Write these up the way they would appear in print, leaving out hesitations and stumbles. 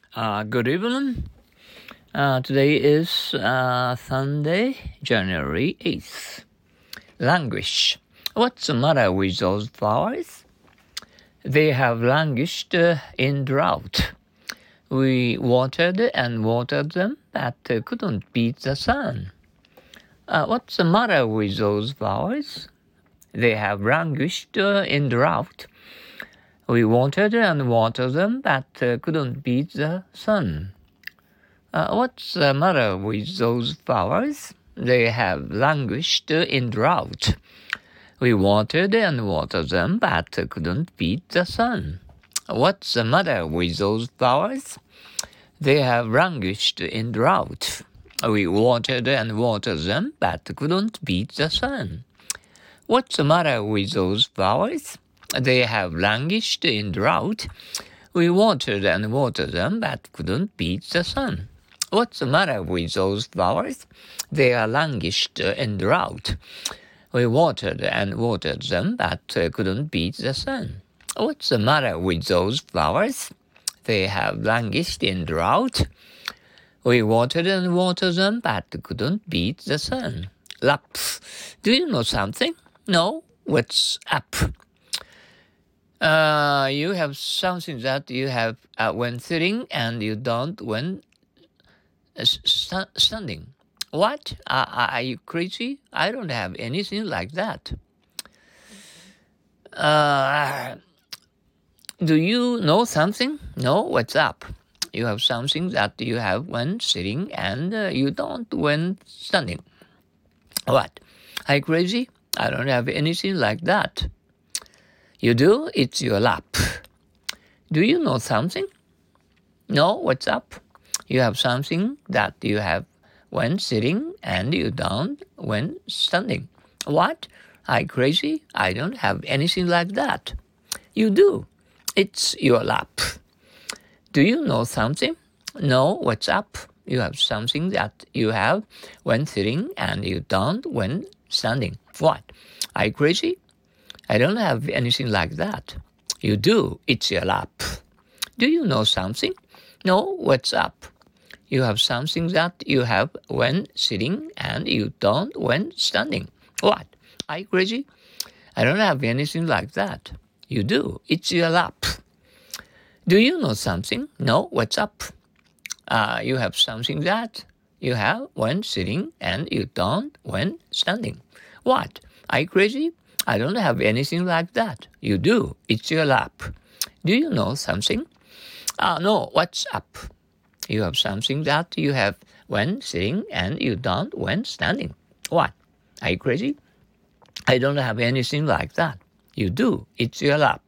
Good evening. Today is Sunday, January 8th. Languish. What's the matter with those flowers? They have languished in drought. We watered and watered them, but couldn't beat the sun. What's the matter with those flowers? They have languished in drought. We watered and watered them, but couldn't beat the sun. What's the matter with those flowers? They have languished in drought. We watered and watered them, but couldn't beat the sun. What's the matter with those flowers? They have languished in drought. We watered and watered them, but couldn't beat the sun. What's the matter with those flowers? They have languished in drought. We watered and watered them, but couldn't beat the sun. What's the matter with those flowers? They are languished in drought. We watered and watered them, but couldn't beat the sun. What's the matter with those flowers? They have languished in drought. We watered and watered them, but couldn't beat the sun. Lap. Do you know something? No? What's up? You have something that you have when sitting and you don't when standing. What? Are you crazy? I don't have anything like that. Do you know something? No? What's up? You have something that you have when sitting and you don't when standing. What? Are you crazy? I don't have anything like that. You do? It's your lap. Do you know something? No? What's up? You have something that you have when sitting and you don't when standing. What? Are you crazy? I don't have anything like that. You do. It's your lap. Do you know something? No? What's up? You have something that you have when sitting and you don't when standing. What? Are you crazy? I don't have anything like that. You do. It's your lap. Do you know something? No? What's up? You have something that you have when sitting and you don't when standing. What? Are you crazy? I don't have anything like that. You do. It's your lap. Do you know something? No? What's up? You have something that you have when sitting and you don't when standing. What? Are you crazy? I don't have anything like that. You do. It's your lap. Do you know something? No. What's up? You have something that you have when sitting and you don't when standing. What? Are you crazy? I don't have anything like that. You do. It's your lap.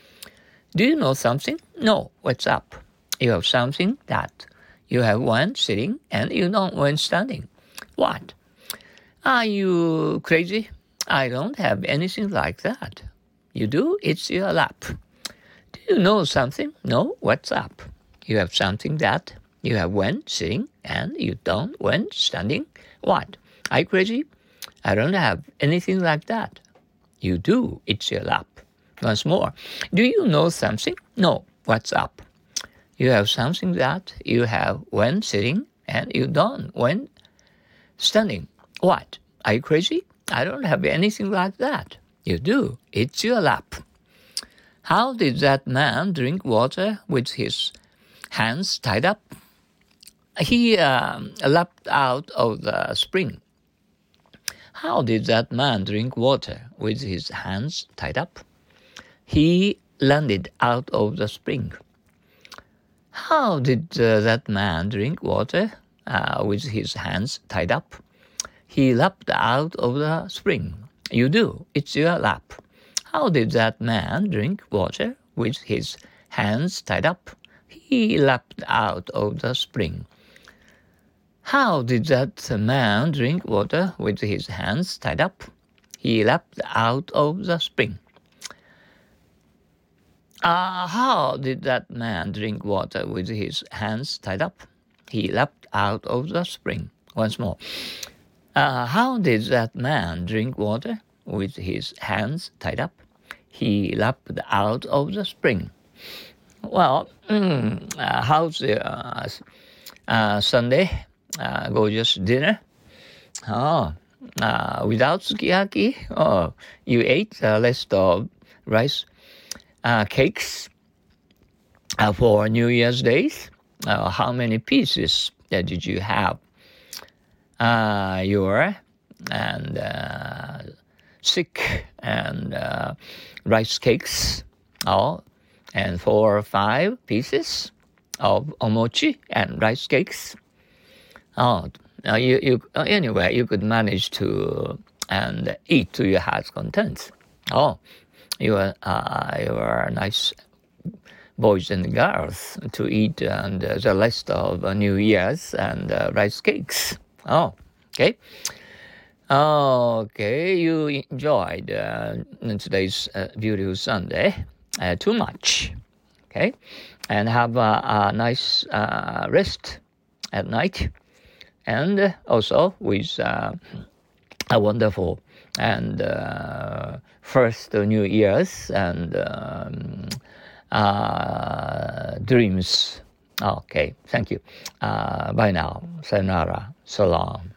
Do you know something? No. What's up? You have something that you have when sitting and you don't when standing. What? Are you crazy? I don't have anything like that. You do? It's your lap. Do you know something? No? What's up? You have something that you have when sitting and you don't when standing. What? Are you crazy? I don't have anything like that. You do. It's your lap. Once more. Do you know something? No. What's up? You have something that you have when sitting and you don't when standing. What? Are you crazy? I don't have anything like that. You do. It's your lap. How did that man drink water with his hands tied up? He lapped out of the spring. How did that man drink water with his hands tied up? He landed out of the spring. How did that man drink water with his hands tied up? He lapped out of the spring. You do. It's your lap. How did that man drink water with his hands tied up? He lapped out of the spring. How did that man drink water with his hands tied up? He lapped out of the spring. How did that man drink water with his hands tied up? He lapped out of the spring. Once more. How did that man drink water with his hands tied up? He lapped out of the spring. Well, how's your Sunday? Gorgeous dinner? Oh, without sukiyaki? Oh, you ate the rest of rice cakes for New Year's Days? How many pieces did you have? Your and sick and rice cakes, oh, and 4 or 5 pieces of omochi and rice cakes. Oh, anyway, you could manage to and eat to your heart's content. Oh, you are nice boys and girls to eat and the rest of New Year's and rice cakes. Oh, okay. Okay, you enjoyed today's beautiful Sunday too much. Okay, and have a nice rest at night, and also with a wonderful and first New Year's and dreams. Okay, thank you. Bye now. Sayonara. So long.